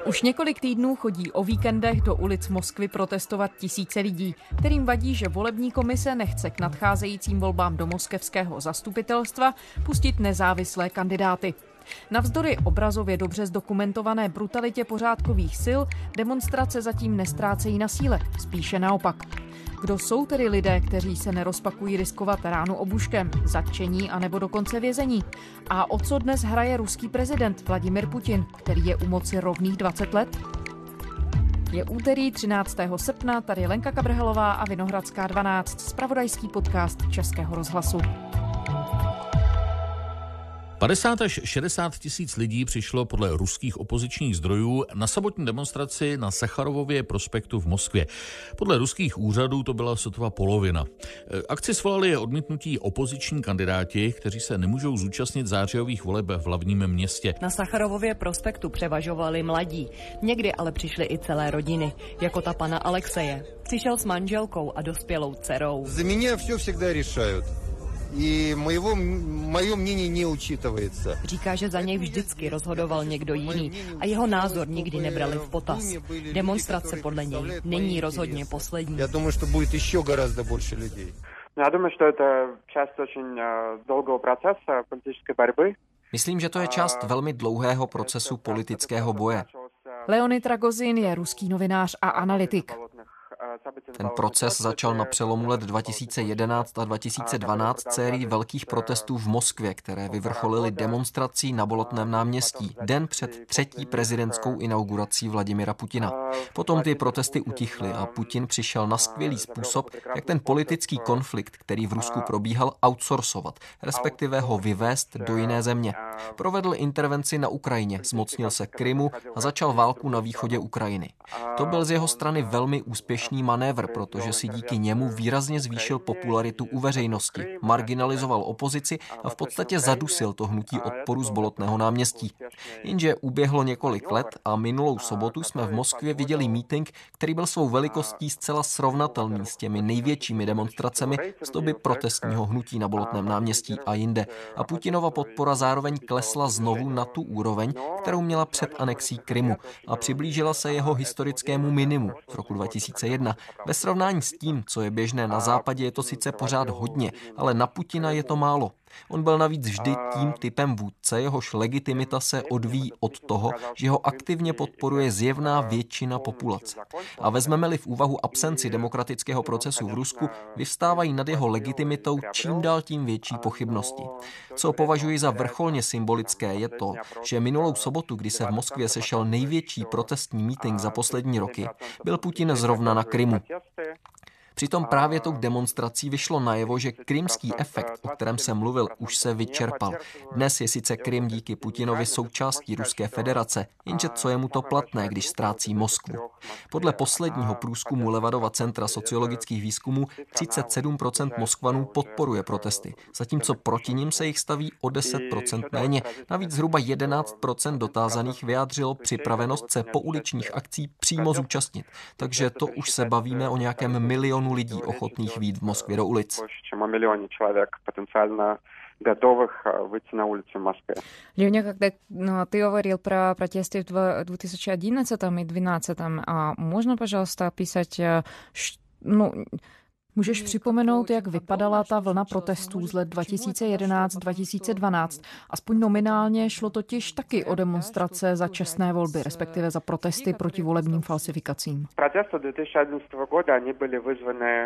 Už několik týdnů chodí o víkendech do ulic Moskvy protestovat tisíce lidí, kterým vadí, že volební komise nechce k nadcházejícím volbám do moskevského zastupitelstva pustit nezávislé kandidáty. Navzdory obrazově dobře zdokumentované brutalitě pořádkových sil demonstrace zatím nestrácejí na síle, spíše naopak. Kdo jsou tedy lidé, kteří se nerozpakují riskovat ránu obuškem, zatčení anebo dokonce vězení? A o co dnes hraje ruský prezident Vladimir Putin, který je u moci rovných 20 let? Je úterý 13. srpna, tady Lenka Kabrhelová a Vinohradská 12, zpravodajský podcast Českého rozhlasu. 50 až 60 tisíc lidí přišlo podle ruských opozičních zdrojů na sobotní demonstraci na Sacharovově prospektu v Moskvě. Podle ruských úřadů to byla sotva polovina. Akci svolali odmítnutí opoziční kandidáti, kteří se nemůžou zúčastnit zářijových voleb v hlavním městě. Na Sacharovově prospektu převažovali mladí. Někdy ale přišly i celé rodiny, jako ta pana Alexeje. Přišel s manželkou a dospělou dcerou. Za mě vše всегда решают. I moje мнение neúčitujется. Říká, že za něj vždycky rozhodoval někdo jiný a jeho názor nikdy nebrali v potaz. Demonstrace podle něj není rozhodně poslední. Já думаю, že bude ještě гораздо больше lidí. Já думаю, že to je část очень долгого процесса политической борьбы. Myslím, že to je část velmi dlouhého procesu politického boje. Leonid Ragozin je ruský novinář a analytik. Ten proces začal na přelomu let 2011 a 2012 sérií velkých protestů v Moskvě, které vyvrcholily demonstrací na Bolotném náměstí den před třetí prezidentskou inaugurací Vladimira Putina. Potom ty protesty utichly a Putin přišel na skvělý způsob, jak ten politický konflikt, který v Rusku probíhal, outsourcovat, respektive ho vyvést do jiné země. Provedl intervenci na Ukrajině, zmocnil se Krymu a začal válku na východě Ukrajiny. To byl z jeho strany velmi úspěšný manévr, protože si díky němu výrazně zvýšil popularitu u veřejnosti, marginalizoval opozici a v podstatě zadusil to hnutí odporu z Bolotného náměstí. Jenže uběhlo několik let a minulou sobotu jsme v Moskvě viděli mítink, který byl svou velikostí zcela srovnatelný s těmi největšími demonstracemi z doby protestního hnutí na Bolotném náměstí a jinde. A Putinova podpora zároveň klesla znovu na tu úroveň, kterou měla před anexí Krymu a přiblížila se jeho historickému minimu z roku 2001. Ve srovnání s tím, co je běžné na západě, je to sice pořád hodně, ale na Putina je to málo. On byl navíc vždy tím typem vůdce, jehož legitimita se odvíjí od toho, že ho aktivně podporuje zjevná většina populace. A vezmeme-li v úvahu absenci demokratického procesu v Rusku, vyvstávají nad jeho legitimitou čím dál tím větší pochybnosti. Co považuji za vrcholně symbolické je to, že minulou sobotu, kdy se v Moskvě sešel největší protestní mítink za poslední roky, byl Putin zrovna na Krymu. Přitom právě tou demonstrací vyšlo najevo, že krymský efekt, o kterém jsem mluvil, už se vyčerpal. Dnes je sice Krym díky Putinovi součástí Ruské federace, jenže co je mu to platné, když ztrácí Moskvu. Podle posledního průzkumu Levadova centra sociologických výzkumů 37% Moskvanů podporuje protesty, zatímco proti nim se jich staví o 10% méně. Navíc zhruba 11% dotázaných vyjádřilo připravenost se pouličních akcí přímo zúčastnit. Takže to už se bavíme o nějakém milionu lidí ochotných vyjít v Moskvě do ulic. Леня, когда ты говорил про протесты в 2011 и 2012, а можно, пожалуйста, описать, můžeš připomenout, jak vypadala ta vlna protestů z let 2011-2012? Aspoň nominálně šlo totiž taky o demonstrace za čestné volby, respektive za protesty proti volebním falsifikacím. Protesty 2011 года, они были вызваны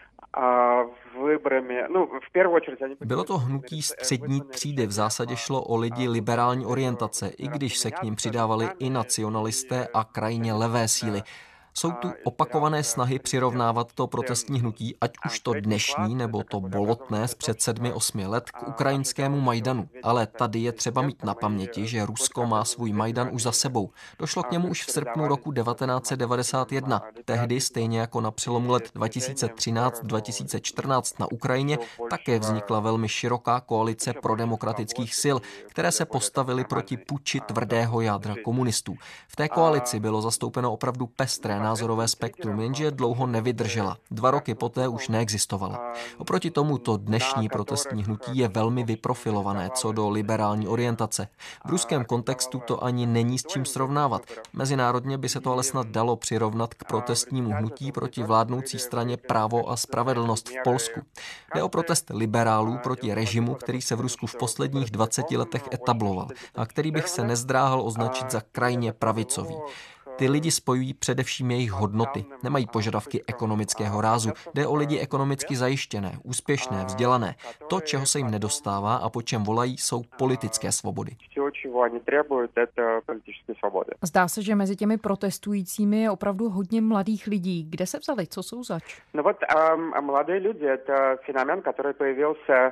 Bylo to hnutí střední třídy, v zásadě šlo o lidi liberální orientace, i když se k nim přidávali i nacionalisté a krajně levé síly. Jsou tu opakované snahy přirovnávat to protestní hnutí, ať už to dnešní nebo to bolotné z před 7-8 let, k ukrajinskému Majdanu. Ale tady je třeba mít na paměti, že Rusko má svůj Majdan už za sebou. Došlo k němu už v srpnu roku 1991. Tehdy, stejně jako na přelomu let 2013-2014 na Ukrajině, také vznikla velmi široká koalice prodemokratických sil, které se postavily proti puči tvrdého jádra komunistů. V té koalici bylo zastoupeno opravdu pestré názorové spektrum, jenže dlouho nevydržela. 2 roky poté už neexistovala. Oproti tomu to dnešní protestní hnutí je velmi vyprofilované co do liberální orientace. V ruském kontextu to ani není s čím srovnávat. Mezinárodně by se to ale snad dalo přirovnat k protestnímu hnutí proti vládnoucí straně Právo a spravedlnost v Polsku. Jde o protest liberálů proti režimu, který se v Rusku v posledních 20 letech etabloval a který bych se nezdráhal označit za krajně pravicový. Ty lidi spojují především jejich hodnoty. Nemají požadavky ekonomického rázu. Jde o lidi ekonomicky zajištěné, úspěšné, vzdělané. To, čeho se jim nedostává a po čem volají, jsou politické svobody. Zdá se, že mezi těmi protestujícími je opravdu hodně mladých lidí. Kde se vzali? Co jsou zač? No вот mladí lidé, to je fenomén, který pojevился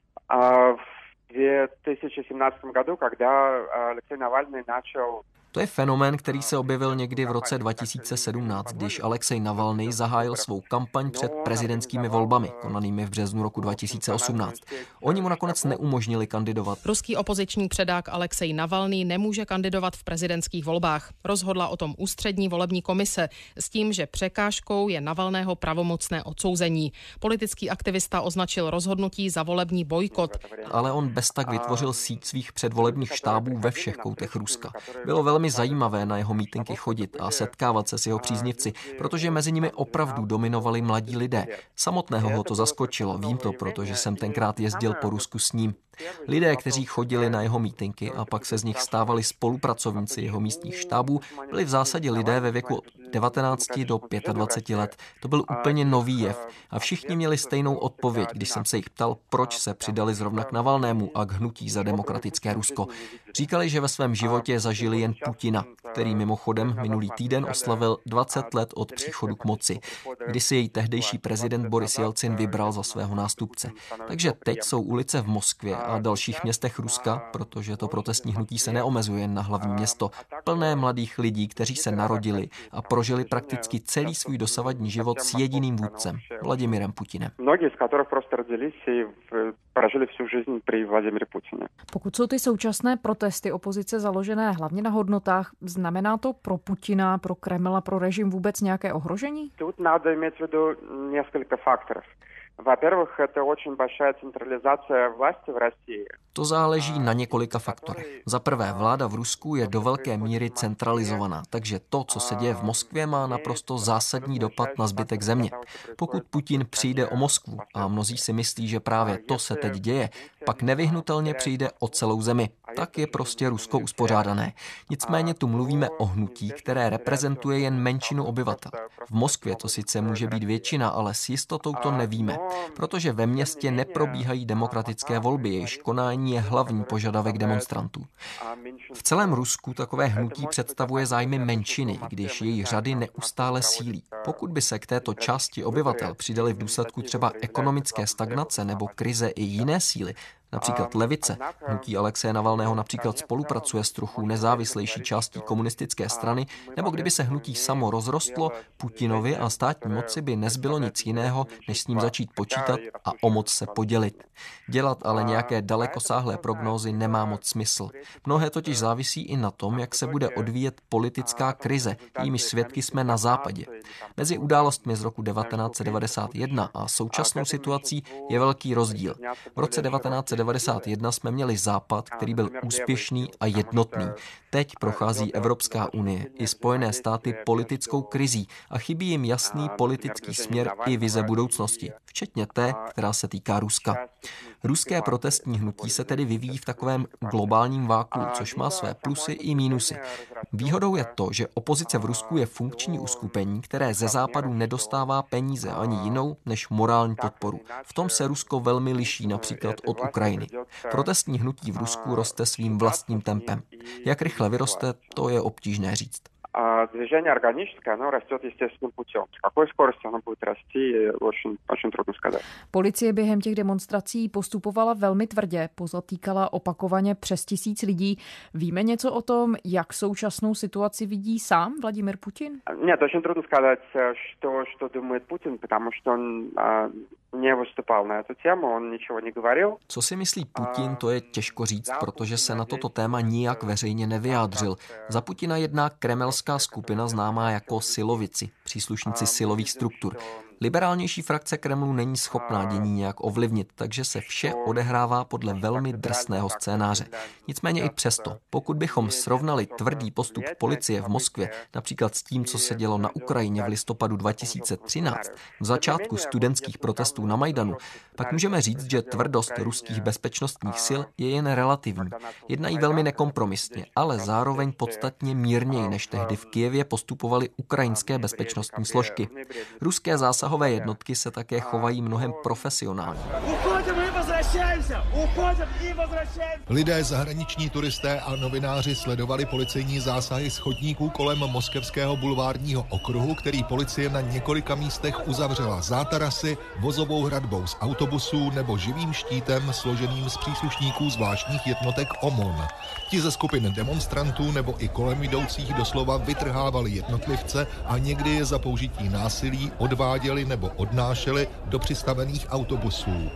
v 2017 году, когда Алексей Навальный начал. To je fenomén, který se objevil někdy v roce 2017, když Alexej Navalnyj zahájil svou kampaň před prezidentskými volbami, konanými v březnu roku 2018. Oni mu nakonec neumožnili kandidovat. Ruský opoziční předák Alexej Navalnyj nemůže kandidovat v prezidentských volbách. Rozhodla o tom ústřední volební komise s tím, že překážkou je Navalného pravomocné odsouzení. Politický aktivista označil rozhodnutí za volební bojkot. Ale on bez tak vytvořil síť svých předvolebních štábů ve všech koutech Ruska. Bylo velmi zajímavé na jeho mítinky chodit a setkávat se s jeho příznivci, protože mezi nimi opravdu dominovali mladí lidé. Samotného ho to zaskočilo, vím to, protože jsem tenkrát jezdil po Rusku s ním. Lidé, kteří chodili na jeho mítinky a pak se z nich stávali spolupracovníci jeho místních štábů, byli v zásadě lidé ve věku od 19 do 25 let. To byl úplně nový jev a všichni měli stejnou odpověď, když jsem se jich ptal, proč se přidali zrovna k Navalnému a k hnutí za demokratické Rusko. Říkali, že ve svém životě zažili jen Putina, který mimochodem minulý týden oslavil 20 let od příchodu k moci, kdy si jej tehdejší prezident Boris Jelcin vybral za svého nástupce. Takže teď jsou ulice v Moskvě a dalších městech Ruska, protože to protestní hnutí se neomezuje na hlavní město, plné mladých lidí, kteří se narodili a prožili prakticky celý svůj dosavadní život s jediným vůdcem, Vladimirem Putinem. Mnozí z kterých prostě rodili si prožili всю жизнь при Владимире Путине. Pokud jsou ty současné protesty opozice založené hlavně na hodnotách, znamená to pro Putina, pro Kreml a pro režim vůbec nějaké ohrožení? Тут надо иметь в виду несколько факторов. Во-первых, это очень большая централизация власти в России. To záleží na několika faktorech. Za prvé, vláda v Rusku je do velké míry centralizovaná, takže to, co se děje v Moskvě, má naprosto zásadní dopad na zbytek země. Pokud Putin přijde o Moskvu, a mnozí si myslí, že právě to se teď děje, pak nevyhnutelně přijde o celou zemi. Tak je prostě Rusko uspořádané. Nicméně tu mluvíme o hnutí, které reprezentuje jen menšinu obyvatel. V Moskvě to sice může být většina, ale s jistotou to nevíme, protože ve městě neprobíhají demokratické volby, jejichž konání je hlavní požadavek demonstrantů. V celém Rusku takové hnutí představuje zájmy menšiny, když její řady neustále sílí. Pokud by se k této části obyvatel přidali v důsledku třeba ekonomické stagnace nebo krize i jiné síly, například levice. Hnutí Alexeje Navalného například spolupracuje s trochu nezávislejší částí komunistické strany, nebo kdyby se hnutí samo rozrostlo, Putinovi a státní moci by nezbylo nic jiného, než s ním začít počítat a o moc se podělit. Dělat ale nějaké dalekosáhlé prognózy nemá moc smysl. Mnohé totiž závisí i na tom, jak se bude odvíjet politická krize, jejímiž svědky jsme na západě. Mezi událostmi z roku 1991 a současnou situací je velký rozdíl. V roce 1991 jsme měli Západ, který byl úspěšný a jednotný. Teď prochází Evropská unie i Spojené státy politickou krizí a chybí jim jasný politický směr i vize budoucnosti, včetně té, která se týká Ruska. Ruské protestní hnutí se tedy vyvíjí v takovém globálním váku, což má své plusy i mínusy. Výhodou je to, že opozice v Rusku je funkční uskupení, které ze západu nedostává peníze ani jinou než morální podporu. V tom se Rusko velmi liší například od Ukrajiny. Protestní hnutí v Rusku roste svým vlastním tempem. Jak rychle vyroste, to je obtížné říct. Движение органическое, оно растет естественным путем. С какой скоростью оно будет расти, очень трудно сказать. Policie během těch demonstrací postupovala velmi tvrdě, pozatýkala opakovaně přes 1000 lidí. Víme něco o tom, jak současnou situaci vidí sám Vladimir Putin? Нет, очень трудно сказать, что думает Путин, потому что он nevystupal na tu tému, on ničeho negovoril. Co si myslí Putin, to je těžko říct, protože se na toto téma nijak veřejně nevyjádřil. Za Putina jedná kremelská skupina známá jako silovici, příslušníci silových struktur. Liberálnější frakce Kremlu není schopná dění nějak ovlivnit, takže se vše odehrává podle velmi drsného scénáře. Nicméně i přesto, pokud bychom srovnali tvrdý postup policie v Moskvě, například s tím, co se dělo na Ukrajině v listopadu 2013, v začátku studentských protestů na Majdanu, pak můžeme říct, že tvrdost ruských bezpečnostních sil je jen relativní. Jednají velmi nekompromisně, ale zároveň podstatně mírněji, než tehdy v Kyjevě postupovaly ukrajinské bezpečnostní složky. Ruské zásahové jednotky se také chovají mnohem profesionálně. Lidé, zahraniční turisté a novináři sledovali policejní zásahy z chodníků kolem moskevského bulvárního okruhu, který policie na několika místech uzavřela zátarasy, vozovou hradbou z autobusů nebo živým štítem složeným z příslušníků zvláštních jednotek OMON. Ti ze skupin demonstrantů nebo i kolem jdoucích doslova vytrhávali jednotlivce a někdy je za použití násilí odváděli nebo odnášeli do přistavených autobusů.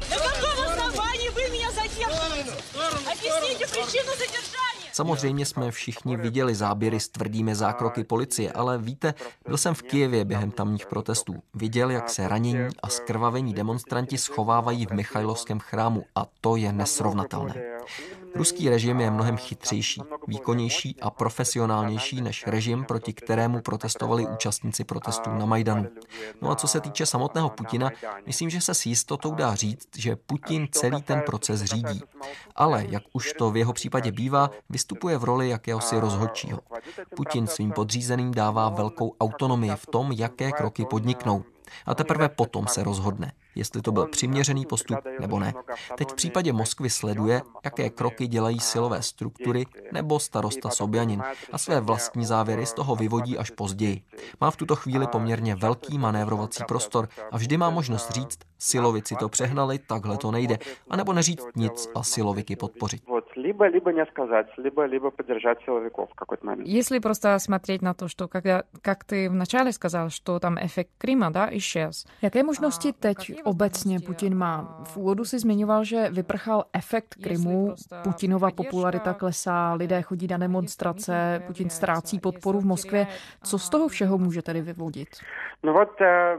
Samozřejmě jsme všichni viděli záběry s tvrdými zákroky policie, ale víte, byl jsem v Kyjevě během tamních protestů. Viděl, jak se ranění a zkrvavení demonstranti schovávají v Michajlovském chrámu a to je nesrovnatelné. Ruský režim je mnohem chytřejší, výkonnější a profesionálnější než režim, proti kterému protestovali účastníci protestů na Majdanu. No a co se týče samotného Putina, myslím, že se s jistotou dá říct, že Putin celý ten proces řídí. Ale, jak už to v jeho případě bývá, vystupuje v roli jakéhosi rozhodčího. Putin svým podřízeným dává velkou autonomii v tom, jaké kroky podniknou. A teprve potom se rozhodne, jestli to byl přiměřený postup nebo ne. Teď v případě Moskvy sleduje, jaké kroky dělají silové struktury nebo starosta Sobjanin a své vlastní závěry z toho vyvodí až později. Má v tuto chvíli poměrně velký manévrovací prostor a vždy má možnost říct, silovici to přehnali, takhle to nejde, anebo neříct nic a siloviky podpořit. Либо не сказать, либо поддержать силовиков в какой-то момент. Если просто смотреть на то, что как ты вначале сказал, что там эффект Крыма, да, исчез. Jaké možnosti teď obecně Putin má? V úvodu si zmiňoval, že vyprchal efekt Krymu, Putinova popularita klesá, lidé chodí na demonstrace, Putin ztrácí podporu v Moskvě. Co z toho všeho může tedy vyvodit? No вот,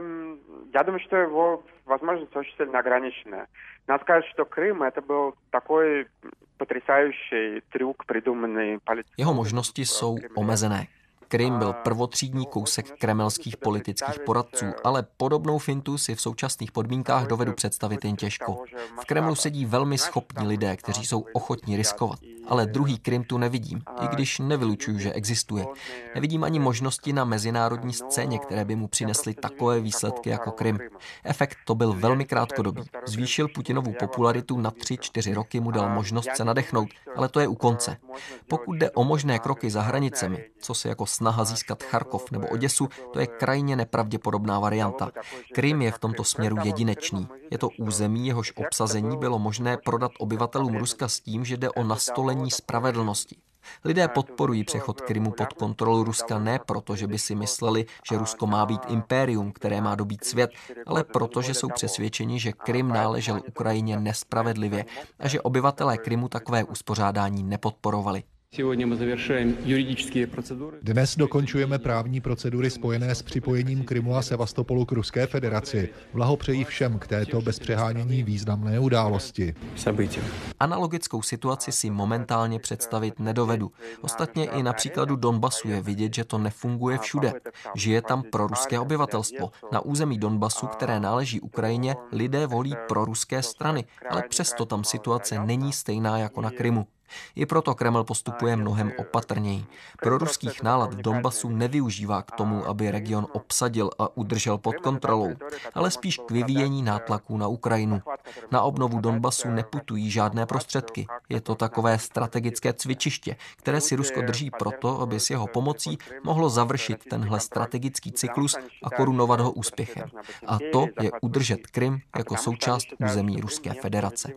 я думаю, что его возможности очень сильно ограничены. Надо сказать, что Крым это был такой потрясающий трюк, придуманный политикой. Jeho možnosti jsou omezené. Krym byl prvotřídní kousek kremelských politických poradců, ale podobnou fintu si v současných podmínkách dovedu představit jen těžko. V Kremlu sedí velmi schopní lidé, kteří jsou ochotní riskovat. Ale druhý Krym tu nevidím, i když nevylučuju, že existuje. Nevidím ani možnosti na mezinárodní scéně, které by mu přinesly takové výsledky jako Krym. Efekt to byl velmi krátkodobý. Zvýšil Putinovu popularitu na 3-4 roky, mu dal možnost se nadechnout, ale to je u konce. Pokud jde o možné kroky za hranicemi, co se jako snaha získat Charkov nebo Oděsu, to je krajně nepravděpodobná varianta. Krym je v tomto směru jedinečný. Je to území, jehož obsazení bylo možné prodat obyvatelům Ruska s tím, že jde o nastolení spravedlnosti. Lidé podporují přechod Krymu pod kontrolu Ruska ne proto, že by si mysleli, že Rusko má být impérium, které má dobít svět, ale proto, že jsou přesvědčeni, že Krym náležel Ukrajině nespravedlivě a že obyvatelé Krymu takové uspořádání nepodporovali. Dnes dokončujeme právní procedury spojené s připojením Krymu a Sevastopolu k Ruské federaci. Blahopřeji všem k této bez přehánění významné události. Analogickou situaci si momentálně představit nedovedu. Ostatně i na příkladu Donbasu je vidět, že to nefunguje všude. Žije tam proruské obyvatelstvo. Na území Donbasu, které náleží Ukrajině, lidé volí proruské strany, ale přesto tam situace není stejná jako na Krymu. I proto Kreml postupuje mnohem opatrněji. Proruských nálad v Donbasu nevyužívá k tomu, aby region obsadil a udržel pod kontrolou, ale spíš k vyvíjení nátlaků na Ukrajinu. Na obnovu Donbasu neputují žádné prostředky. Je to takové strategické cvičiště, které si Rusko drží proto, aby s jeho pomocí mohlo završit tenhle strategický cyklus a korunovat ho úspěchem. A to je udržet Krym jako součást území Ruské federace.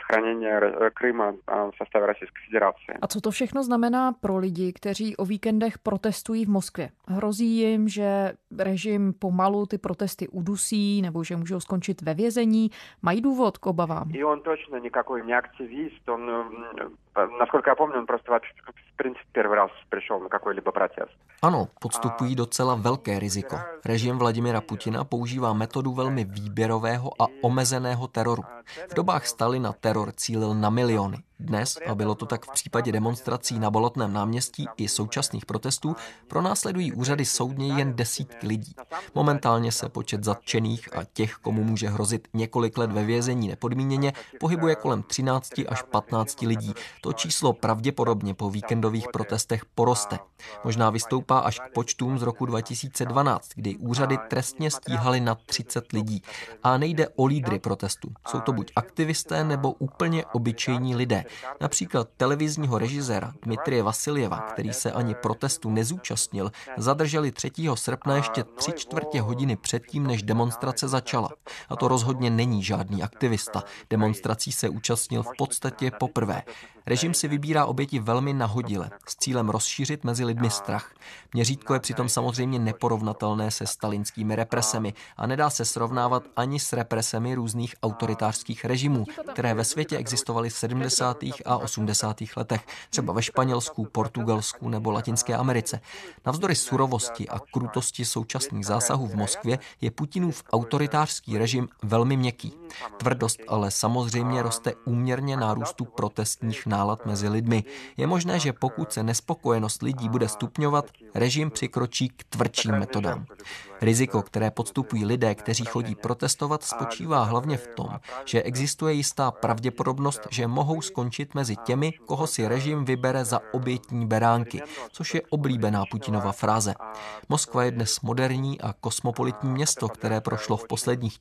сохранения Крыма в составе Российской Федерации. A co to všechno znamená pro lidi, kteří o víkendech protestují v Moskvě? Hrozí jim, že režim pomalu ty protesty udusí nebo že můžou skončit ve vězení? Mají důvod k obavám? И он точно никакой не активист, он, насколько я помню, он просто в принципе первый раз пришел на какой-либо протест. Ano, podstupují docela velké riziko. Režim Vladimira Putina používá metodu velmi výběrového a omezeného teroru. V dobách Stalina teror cílil na miliony. Dnes, a bylo to tak v případě demonstrací na Bolotném náměstí i současných protestů, pronásledují úřady soudně jen desítky lidí. Momentálně se počet zatčených a těch, komu může hrozit několik let ve vězení nepodmíněně, pohybuje kolem 13 až 15 lidí. To číslo pravděpodobně po víkendových protestech poroste. Možná vystoupá až k počtům z roku 2012, kdy úřady trestně stíhaly na 30 lidí. A nejde o lídry protestů. Jsou to buď aktivisté nebo úplně obyčejní lidé. Například televizního režiséra Dmitrije Vasiljeva, který se ani protestu nezúčastnil, zadrželi 3. srpna ještě 3/4 hodiny předtím, než demonstrace začala. A to rozhodně není žádný aktivista. Demonstrací se účastnil v podstatě poprvé. Režim si vybírá oběti velmi nahodile, s cílem rozšířit mezi lidmi strach. Měřítko je přitom samozřejmě neporovnatelné se stalinskými represemi a nedá se srovnávat ani s represemi různých autoritářských režimů, které ve světě existovaly v 70. a 80. letech, třeba ve Španělsku, Portugalsku nebo Latinské Americe. Navzdory surovosti a krutosti současných zásahů v Moskvě je Putinův autoritářský režim velmi měkký. Tvrdost ale samozřejmě roste úměrně nárůstu protestních nálad mezi lidmi. Je možné, že pokud se nespokojenost lidí bude stupňovat, režim přikročí k tvrdším metodám. Riziko, které podstupují lidé, kteří chodí protestovat, spočívá hlavně v tom, že existuje jistá pravděpodobnost, že mohou skončit mezi těmi, koho si režim vybere za obětní beránky, což je oblíbená Putinova fráze. Moskva je dnes moderní a kosmopolitní město, které prošlo v posledních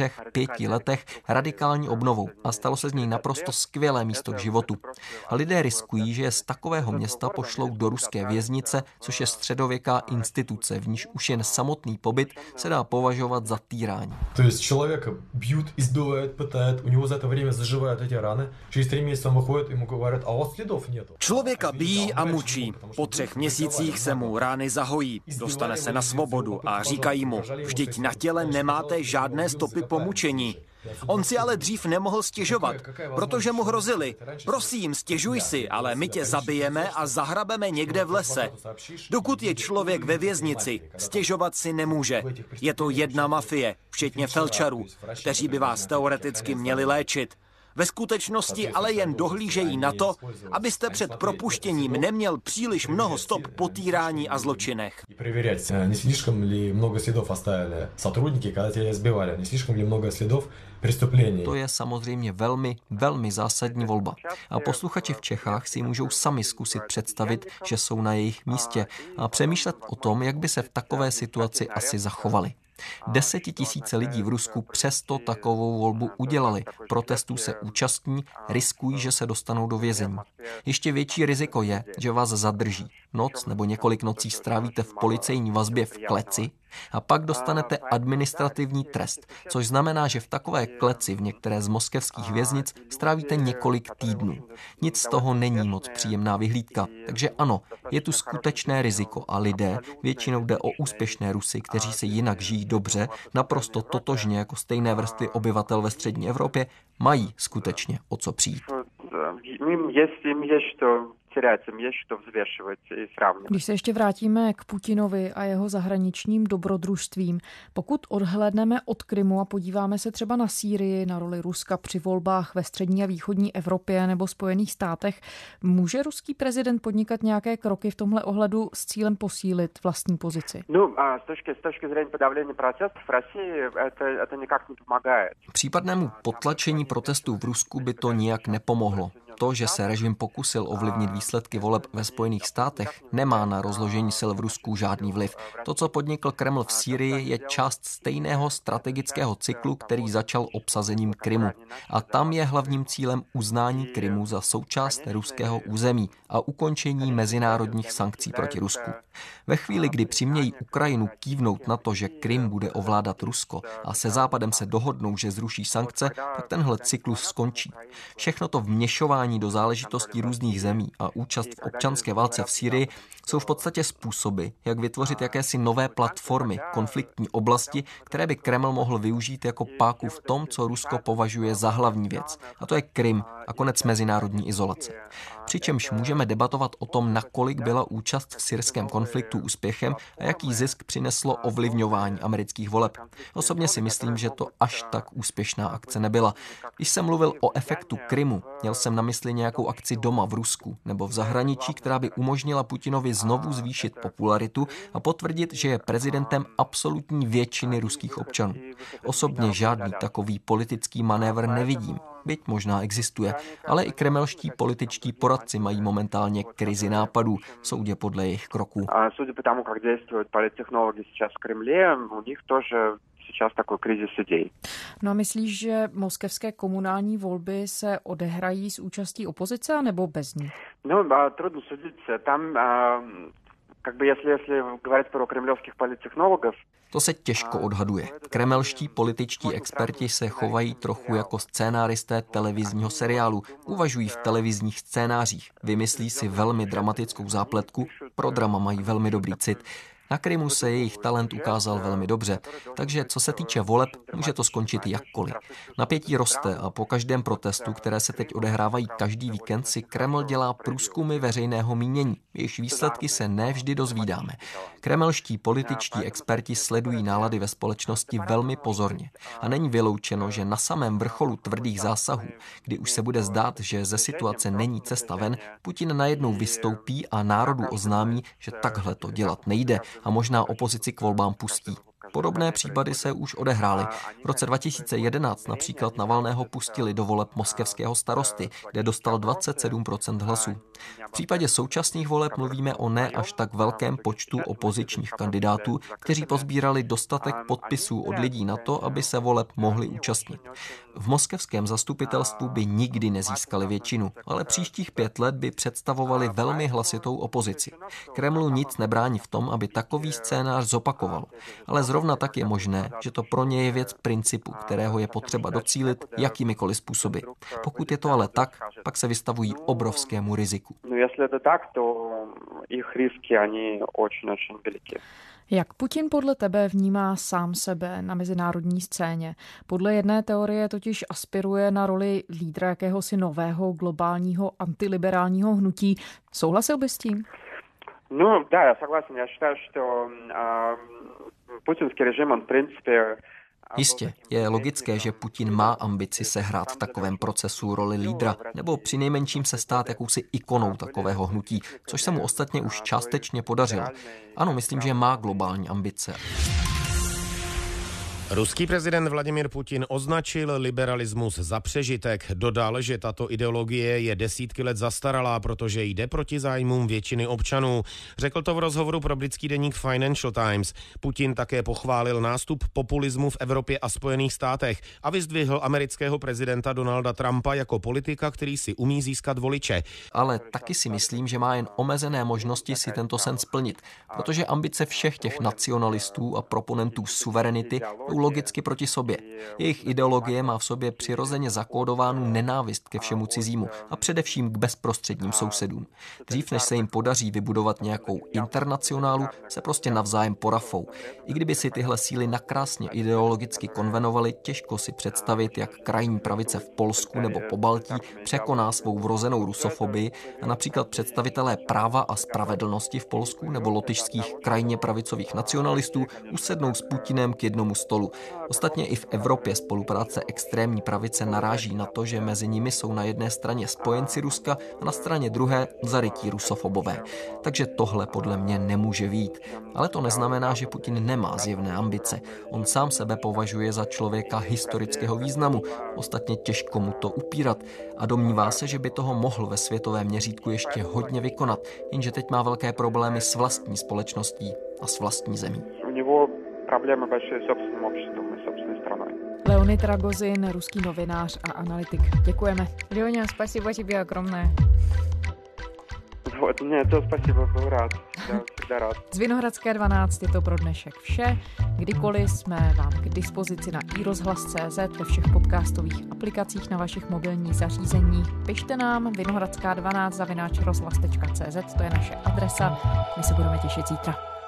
4-5 letech radikální obnovou a stalo se z něj naprosto skvělé místo k životu. A lidé riskují, že je z takového města pošlou do ruské věznice, což je středověká instituce, v níž už jen samotný pobyt se dá považovat za týrání. To jest člověka bьют, избивают, пытают, у него за это время заживают эти раны. Через 3 месяce он выходит, ему говорят, а у вас следов нету. Člověka bijí a mučí. Po 3 měsících se mu rány zahojí. Dostane se na svobodu a říkají mu, vždyť na těle nemáte žádné stopy po mučení. On si ale dřív nemohl stěžovat, protože mu hrozili. Prosím, stěžuj si, ale my tě zabijeme a zahrabeme někde v lese. Dokud je člověk ve věznici, stěžovat si nemůže. Je to jedna mafie, včetně felčarů, kteří by vás teoreticky měli léčit. Ve skutečnosti ale jen dohlížejí na to, abyste před propuštěním neměl příliš mnoho stop po týrání a zločinech. To je samozřejmě velmi, velmi zásadní volba. A posluchači v Čechách si můžou sami zkusit představit, že jsou na jejich místě a přemýšlet o tom, jak by se v takové situaci asi zachovali. 10 000 lidí v Rusku přesto takovou volbu udělali. Protestů se účastní, riskují, že se dostanou do vězení. Ještě větší riziko je, že vás zadrží. Noc nebo několik nocí strávíte v policejní vazbě v kleci a pak dostanete administrativní trest, což znamená, že v takové kleci v některé z moskevských věznic strávíte několik týdnů. Nic z toho není moc příjemná vyhlídka, takže ano, je tu skutečné riziko a lidé, většinou jde o úspěšné Rusy, kteří se jinak žijí dobře, naprosto totožně jako stejné vrstvy obyvatel ve střední Evropě, mají skutečně o co přijít. Když se ještě vrátíme k Putinovi a jeho zahraničním dobrodružstvím, pokud odhlédneme od Krymu a podíváme se třeba na Sýrii, na roli Ruska při volbách ve střední a východní Evropě nebo Spojených státech, může ruský prezident podnikat nějaké kroky v tomhle ohledu s cílem posílit vlastní pozici? S точки зрения подавления протестов в России это никак не помогает. Případnému potlačení protestů v Rusku by to nijak nepomohlo. to, že se režim pokusil ovlivnit výsledky voleb ve Spojených státech, nemá na rozložení sil v Rusku žádný vliv. To, co podnikl Kreml v Sýrii, je část stejného strategického cyklu, který začal obsazením Krymu. A tam je hlavním cílem uznání Krymu za součást ruského území a ukončení mezinárodních sankcí proti Rusku. Ve chvíli, kdy přimějí Ukrajinu kývnout na to, že Krym bude ovládat Rusko a se Západem se dohodnou, že zruší sankce, tak tenhle cyklus skončí. Všechno to vměšování do záležitostí různých zemí a účast v občanské válce v Sýrii jsou v podstatě způsoby, jak vytvořit jakési nové platformy, konfliktní oblasti, které by Kreml mohl využít jako páku v tom, co Rusko považuje za hlavní věc. A to je Krym a konec mezinárodní izolace. Přičemž můžeme debatovat o tom, nakolik byla účast v syrském konfliktu úspěchem a jaký zisk přineslo ovlivňování amerických voleb. Osobně si myslím, že to až tak úspěšná akce nebyla. Když jsem mluvil o efektu Krymu, měl jsem na mysli nějakou akci doma v Rusku nebo v zahraničí, která by umožnila Putinovi znovu zvýšit popularitu a potvrdit, že je prezidentem absolutní většiny ruských občanů. Osobně žádný takový politický manévr nevidím. Byť možná existuje, ale i kremelští političtí poradci mají momentálně krizi nápadů, soudě podle jejich kroků. A судя по тому, как действуют политтехнологи сейчас в Кремле, у них тоже сейчас такой кризис идей. No a myslíš, že moskevské komunální volby se odehrají s účastí opozice nebo bez ní? No, трудно судить. Там, как бы, если говорить про кремлевских политтехнологов, to se těžko odhaduje. Kremelští političtí experti se chovají trochu jako scénáristé televizního seriálu. Uvažují v televizních scénářích. Vymyslí si velmi dramatickou zápletku. Pro drama mají velmi dobrý cit. Na Krymu se jejich talent ukázal velmi dobře, takže co se týče voleb, může to skončit jakkoliv. Napětí roste a po každém protestu, které se teď odehrávají každý víkend, si Kreml dělá průzkumy veřejného mínění. Jejichž výsledky se nevždy dozvídáme. Kremelští političtí experti sledují nálady ve společnosti velmi pozorně. A není vyloučeno, že na samém vrcholu tvrdých zásahů, kdy už se bude zdát, že ze situace není cesta ven, Putin najednou vystoupí a národu oznámí, že takhle to dělat nejde a možná opozici k volbám pustí. Podobné případy se už odehrály. V roce 2011 například Navalného pustili do voleb moskevského starosty, kde dostal 27% hlasů. V případě současných voleb mluvíme o ne až tak velkém počtu opozičních kandidátů, kteří pozbírali dostatek podpisů od lidí na to, aby se voleb mohli účastnit. V moskevském zastupitelstvu by nikdy nezískali většinu, ale příštích 5 let by představovali velmi hlasitou opozici. Kremlu nic nebrání v tom, aby takový scénář zopakoval, ale zrovna tak je možné, že to pro ně je věc principu, kterého je potřeba docílit jakýmikoliv způsoby. Pokud je to ale tak, pak se vystavují obrovskému riziku. No, jestli je to tak, to jejich risky, oni очень veliké. Jak Putin podle tebe vnímá sám sebe na mezinárodní scéně? Podle jedné teorie totiž aspiruje na roli lídra jakéhosi nového globálního antiliberálního hnutí. Souhlasil bys s tím? No, да, я согласен. Я считаю, что путинский режим, он, в принципе... Jistě, je logické, že Putin má ambici sehrát v takovém procesu roli lídra, nebo přinejmenším se stát jakousi ikonou takového hnutí, což se mu ostatně už částečně podařilo. Ano, myslím, že má globální ambice. Ruský prezident Vladimír Putin označil liberalismus za přežitek. Dodal, že tato ideologie je desítky let zastaralá, protože jde proti zájmům většiny občanů. Řekl to v rozhovoru pro britský deník Financial Times. Putin také pochválil nástup populismu v Evropě a Spojených státech a vyzdvihl amerického prezidenta Donalda Trumpa jako politika, který si umí získat voliče. Ale taky si myslím, že má jen omezené možnosti si tento sen splnit, protože ambice všech těch nacionalistů a proponentů suverenity logicky proti sobě. Jejich ideologie má v sobě přirozeně zakódovánu nenávist ke všemu cizímu a především k bezprostředním sousedům. Dřív, než se jim podaří vybudovat nějakou internacionálu, se prostě navzájem porafou. I kdyby si tyhle síly nakrásně ideologicky konvenovaly, těžko si představit, jak krajní pravice v Polsku nebo Pobaltí překoná svou vrozenou rusofobii a například představitelé Práva a spravedlnosti v Polsku nebo lotyšských krajně pravicových nacionalistů usednou s Putinem k jednomu stolu. Rusku. Ostatně i v Evropě spolupráce extrémní pravice naráží na to, že mezi nimi jsou na jedné straně spojenci Ruska a na straně druhé zarytí rusofobové. Takže tohle podle mě nemůže vyjít. Ale to neznamená, že Putin nemá zjevné ambice. On sám sebe považuje za člověka historického významu. Ostatně těžko mu to upírat a domnívá se, že by toho mohl ve světovém měřítku ještě hodně vykonat, jenže teď má velké problémy s vlastní společností a s vlastní zemí. У него проблемы большие с собственным обществом и собственной страной. Leonid Ragozin, ruský novinář a analytik. Děkujeme. Лёня, спасибо тебе огромное. Вот, мне to спасибо, byl rád. Já всегда rád. Z Vinohradské 12 je to pro dnešek vše. Kdykoliv jsme vám k dispozici na iRozhlas.cz, ve všech podcastových aplikacích na vašich mobilních zařízeních. Pište nám vinohradská12@rozhlas.cz, to je naše adresa. My se budeme těšit zítra.